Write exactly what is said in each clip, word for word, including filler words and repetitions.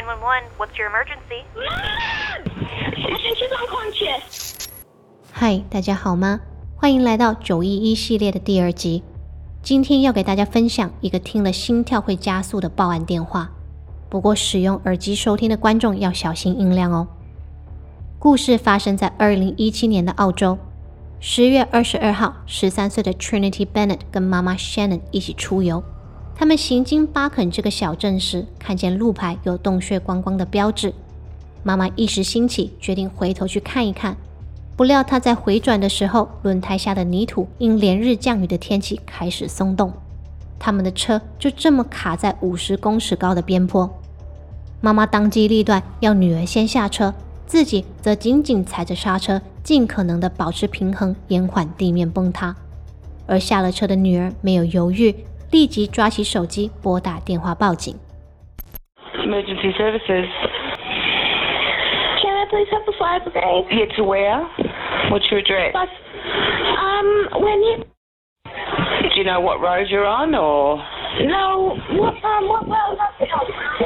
nine one one, what's your emergency? Mom! I think she's unconscious. 嗨，大家好吗？欢迎来到九一一系列的第二集。今天要给大家分享一个听了心跳会加速的报案电话，不过使用耳机收听的观众要小心音量哦。故事发生在二零一七年的澳洲，十月二十二号，十三岁的 Trinity Bennett 跟妈妈 Shannon 一起出游。他们行经巴肯这个小镇时，看见路牌有洞穴观光的标志。妈妈一时兴起，决定回头去看一看。不料她在回转的时候，轮胎下的泥土因连日降雨的天气开始松动，他们的车就这么卡在五十公尺高的边坡。妈妈当机立断，要女儿先下车，自己则紧紧踩着刹车，尽可能的保持平衡，延缓地面崩塌。而下了车的女儿没有犹豫，立即抓起手机拨打电话报警。 Emergency services. Can I please have the fire brigade? Yeah, to where? What's your address? But, um, when you... Do you know what road you're on, or...? No, what, um, what well is that?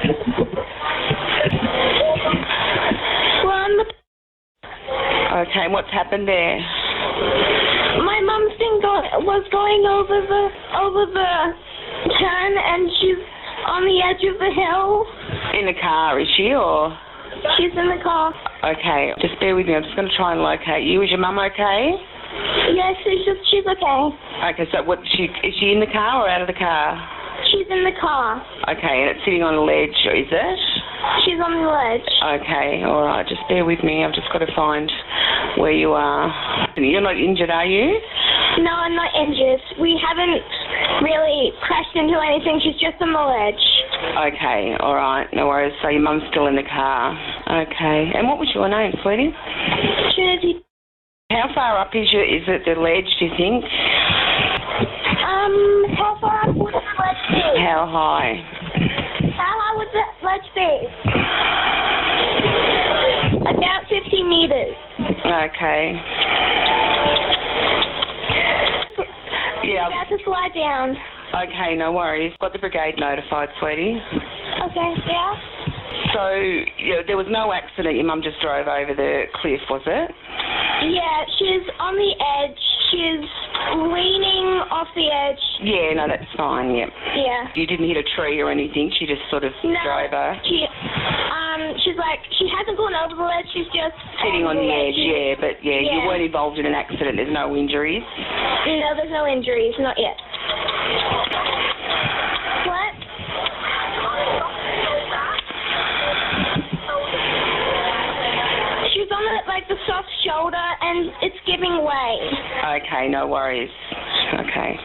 We're on the... Okay, what's happened there? My mum's been go- was going over the, over the turn, and she's on the edge of the hill. In the car, is she, or...? She's in the car. Okay, just bear with me. I'm just going to try and locate you. Is your mum okay? Yes, she's just, she's okay. Okay, so what? She is she in the car or out of the car? She's in the car. Okay, and it's sitting on a ledge, is it? She's on the ledge. Okay, all right. Just bear with me. I've just got to find where you are. You're not injured, are you? No, I'm not injured. We haven't really crashed into anything. She's just on the ledge. Okay, all right. No worries. So your mum's still in the car. Okay. And what was your name, sweetie? Trinity. How far up is your, is it the ledge, do you think? Um, how far up would the ledge be? How high? How high would the ledge be? About fifty meters. Okay. Yeah. About to slide down. Okay, no worries. Got the brigade notified, sweetie. Okay, yeah? So, yeah, there was no accident. Your mum just drove over the cliff, was it? Yeah, she's on the edge. She's leaning off the edge. Yeah, no, that's fine, yeah. Yeah. You didn't hit a tree or anything? She just sort of No, drove her? she, um, she's like, she hasn't gone over the ledge, she's just... Sitting on the edge, yeah, but yeah, Yeah. you weren't involved in an accident. There's no injuries? No, there's no injuries, not yet. What? She's on the, like the soft shoulder and it's giving way. Okay, no worries. Okay.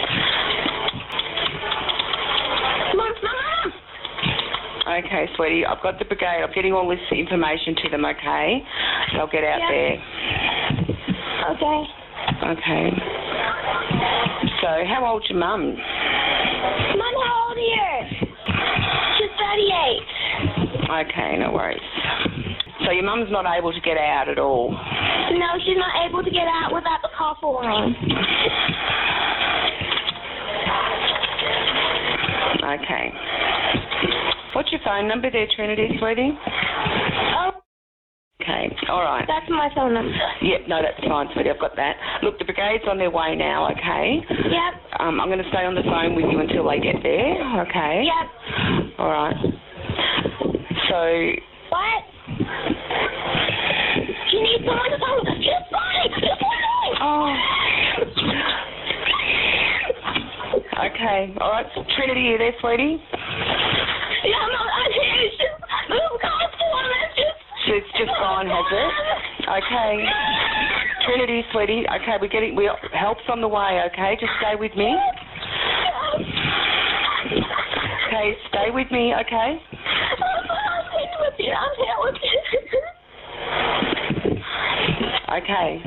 Mom, Mom! Okay, sweetie, I've got the brigade. I'm getting all this information to them, okay? They'll get out Yeah. there. Okay. Okay. So, how old's your mum? Mom, how old are you? She's thirty-eight. Okay, no worries. So your mum's not able to get out at all? No, she's not able to get out without the car falling. Okay. What's your phone number there, Trinity, sweetie? Oh, Okay, all right. that's my phone number. Yep, no, that's fine, sweetie, I've got that. Look, the brigade's on their way now, okay? Yep. Um, I'm going to stay on the phone with you until they get there, okay? Yep. All right. So, What? She needs someone to phone. She's fine. She's fine. oh. Okay, all right. Trinity, you there, sweetie? Yeah, I'm not I'm here. It's just the car's falling. It's just... She's just gone, has it? Okay. Trinity, sweetie, okay, we're getting, we help's on the way, okay? Just stay with me. Okay, stay with me, okay? I'm here with you. I'm here with you. Okay.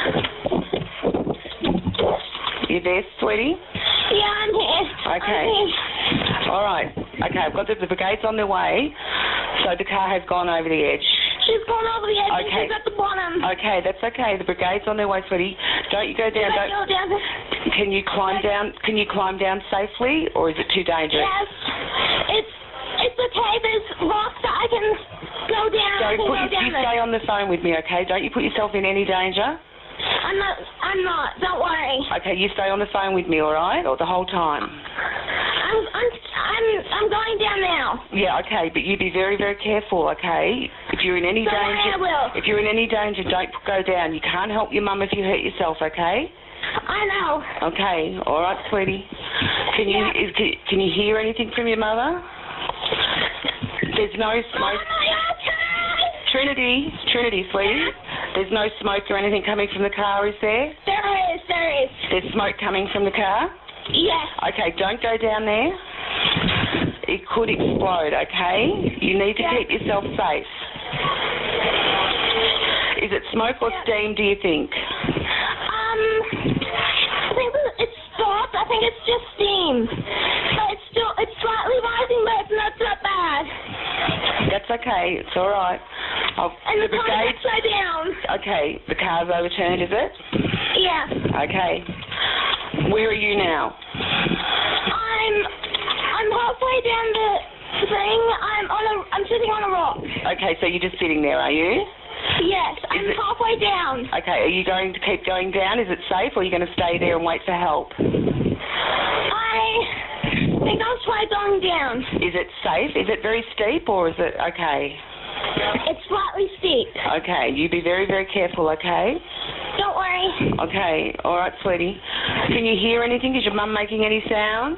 You there, sweetie? Yeah, I'm here. Okay. I'm here. All right. Okay, I've got the, the brigade's on their way, so the car has gone over the edge. She's gone over the edge Okay. and she's at the bottom. Okay, that's okay. The brigade's on their way, sweetie. Don't you go down. Should I Don't, go down there? can you climb down? Can you climb down safely, or is it too dangerous? Yes. It's it's okay. There's rocks that I you damn stay it. on the phone with me, okay? Don't you put yourself in any danger? I'm not, I'm not, don't worry. Okay, you stay on the phone with me, all right? Or the whole time? I'm, I'm, I'm, I'm going down now. Yeah, okay, but you be very, very careful, okay? If you're in any Don't worry, danger, I will. if you're in any danger, don't go down. You can't help your mum if you hurt yourself, okay? I know. Okay, all right, sweetie. Can you Yeah. is, can, can you hear anything from your mother? There's no smoke. Mama, okay? Trinity, Trinity, sweetie. There's no smoke or anything coming from the car, is there? There is, there is. There's smoke coming from the car? Yes. Okay, don't go down there. It could explode, okay? You need to Yeah. keep yourself safe. Is it smoke or Yeah. steam, do you think? Um, I think that it's stopped. I think it's just steam. But it's still, it's slightly rising, but it's not that bad. That's okay, it's all right. I'll, And the the car's brigade, upside down. okay, the car's overturned, is it? Yeah. Okay. Where are you now? I'm, I'm halfway down the thing. I'm on a, I'm sitting on a rock. Okay, so you're just sitting there, are you? Yes, I'm it- halfway down. Okay, are you going to keep going down? Is it safe, or are you going to stay there and wait for help? I think I'll try going down. Is it safe? Is it very steep, or is it okay? It's slightly steep. Okay, you be very, very careful, okay? Don't worry. Okay, all right, sweetie. Can you hear anything? Is your mum making any sounds?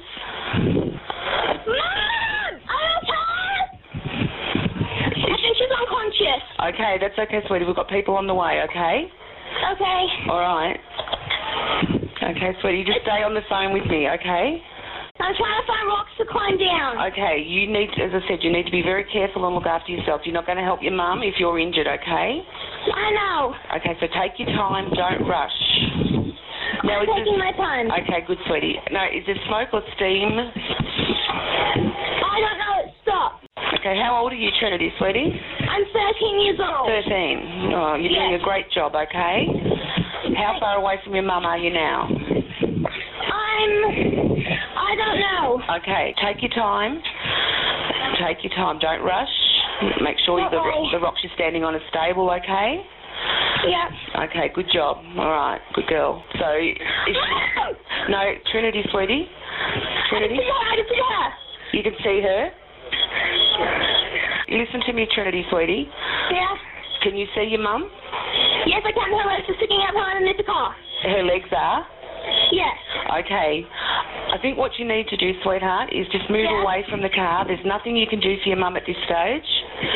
Mom! I'm okay! I think she's unconscious. Okay, that's okay, sweetie. We've got people on the way, okay? Okay. All right. Okay, sweetie, you just stay on the phone with me, okay? I'm trying to find rocks to climb down. Okay, you need, as I said, you need to be very careful and look after yourself. You're not going to help your mum if you're injured, okay? I know. Okay, so take your time, don't rush. Now, I'm is taking this, my time. okay, good, sweetie. Now, is there smoke or steam? I don't know. It stopped. Okay, how old are you, Trinity, sweetie? I'm thirteen years old. thirteen. Oh, you're doing Yes. a great job, okay? How far away from your mum are you now? I'm... I don't know. Okay, take your time. Take your time, don't rush. Make sure Don't the, worry. the rocks you're standing on are stable, okay? Yep. Okay, good job. All right, good girl. So, is she, no, Trinity, sweetie. Trinity, I can see her. I can see her. you can see her. Listen to me, Trinity, sweetie. Yeah. Can you see your mum? Yes, I can. Her legs are sticking out behind underneath the car. Her legs are? Yes. Okay. I think what you need to do, sweetheart, is just move Yeah. away from the car. There's nothing you can do for your mum at this stage.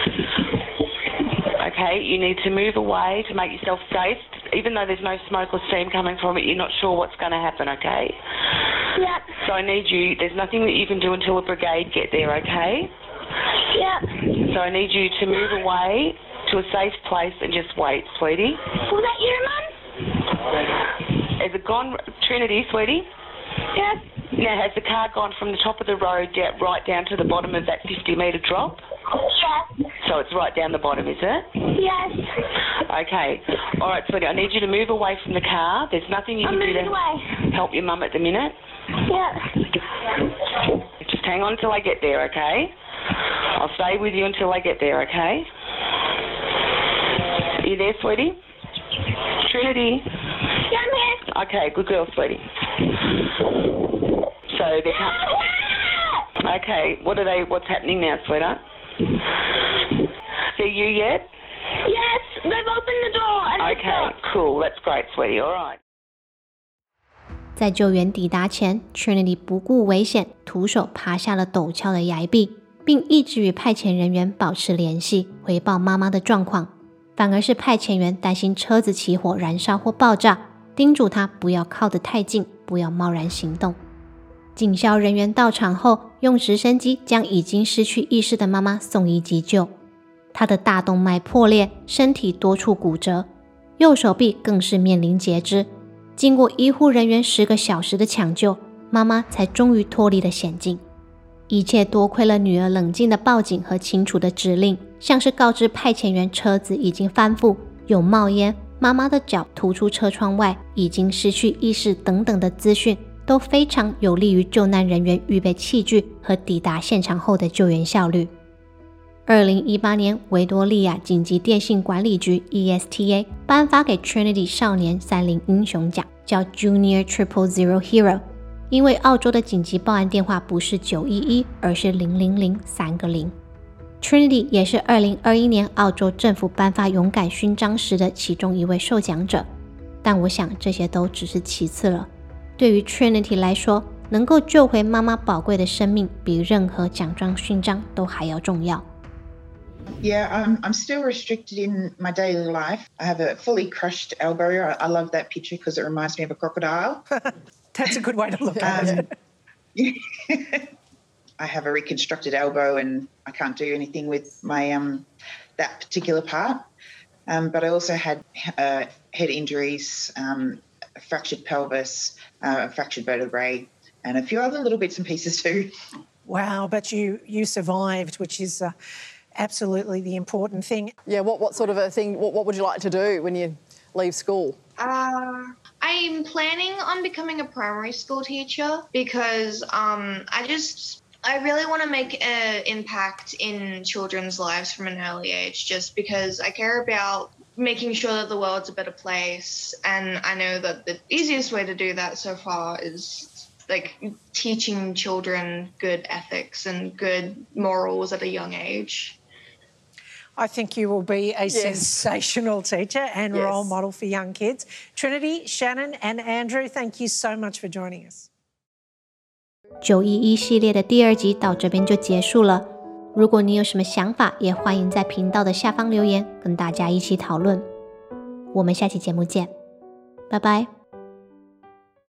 Okay, you need to move away to make yourself safe. Even though there's no smoke or steam coming from it, you're not sure what's going to happen, okay? Yep. So I need you, there's nothing that you can do until a brigade get there, okay? Yep. So I need you to move away to a safe place and just wait, sweetie. Was that you, Mum? Has it gone, Trinity, sweetie? Yes. Now, has the car gone from the top of the road down, right down to the bottom of that fifty metre drop? Yes. So it's right down the bottom, is it? Yes. Okay. All right, sweetie, I need you to move away from the car. There's nothing you I'm can do moving to away. help your mum at the minute. Yep. Just hang on until I get there, okay? I'll stay with you until I get there, okay? Are you there, sweetie? Trinity? Yeah, I'm here. Okay, good girl, sweetie. So they can't... Okay, what are they, what's happening now, sweetheart? See you yet? Yes, they've opened the door and it's Okay, up. cool, that's great, sweetie, all right. 在救援抵达前 ，Trinity 不顾危险，徒手爬下了陡峭的崖壁，并一直与派遣人员保持联系，回报妈妈的状况。反而是派遣员担心车子起火、燃烧或爆炸，叮嘱他不要靠得太近，不要贸然行动。警消人员到场后，用直升机将已经失去意识的妈妈送医急救。她的大动脉破裂，身体多处骨折，右手臂更是面临截肢。经过医护人员十个小时的抢救，妈妈才终于脱离了险境。一切多亏了女儿冷静的报警和清楚的指令，像是告知派遣员车子已经翻覆、有冒烟、妈妈的脚突出车窗外、已经失去意识等等的资讯，都非常有利于救难人员预备器具和抵达现场后的救援效率。 二零一八年维多利亚紧急电信管理局 E S T A 颁发给 Trinity 少年三菱英雄奖，叫 Junior Triple Zero Hero， 因为澳洲的紧急报案电话不是九一一，而是零零零三个零。Trinity 也是二零二一年澳洲政府颁发勇敢勋章时的其中一位受奖者，但我想这些都只是其次了。对于 Trinity 来说，能够救回妈妈宝贵的生命，比任何奖状勋章都还要重要。 Yeah, I'm, I'm still restricted in my daily life. I have a fully crushed elbow. I, I love that picture because it reminds me of a crocodile. That's a good way to look at um, it. I have a reconstructed elbow and I can't do anything with my um, that particular part. Um, but I also had uh, head injuries, um, a fractured pelvis, uh, a fractured vertebrae, and a few other little bits and pieces too. Wow, but you, you survived, which is... Uh, absolutely the important thing. Yeah, what, what sort of a thing, what, what would you like to do when you leave school? Uh, I'm planning on becoming a primary school teacher because um, I just, I really want to make an impact in children's lives from an early age just because I care about making sure that the world's a better place, and I know that the easiest way to do that so far is like teaching children good ethics and good morals at a young age. I think you will be a yes. sensational teacher and yes. role model for young kids. Trinity, Shannon and Andrew, thank you so much for joining us. 九一一系列的第二集到这边就结束了。如果你有什么想法，也欢迎在频道的下方留言，跟大家一起讨论。我们下期节目见，拜拜。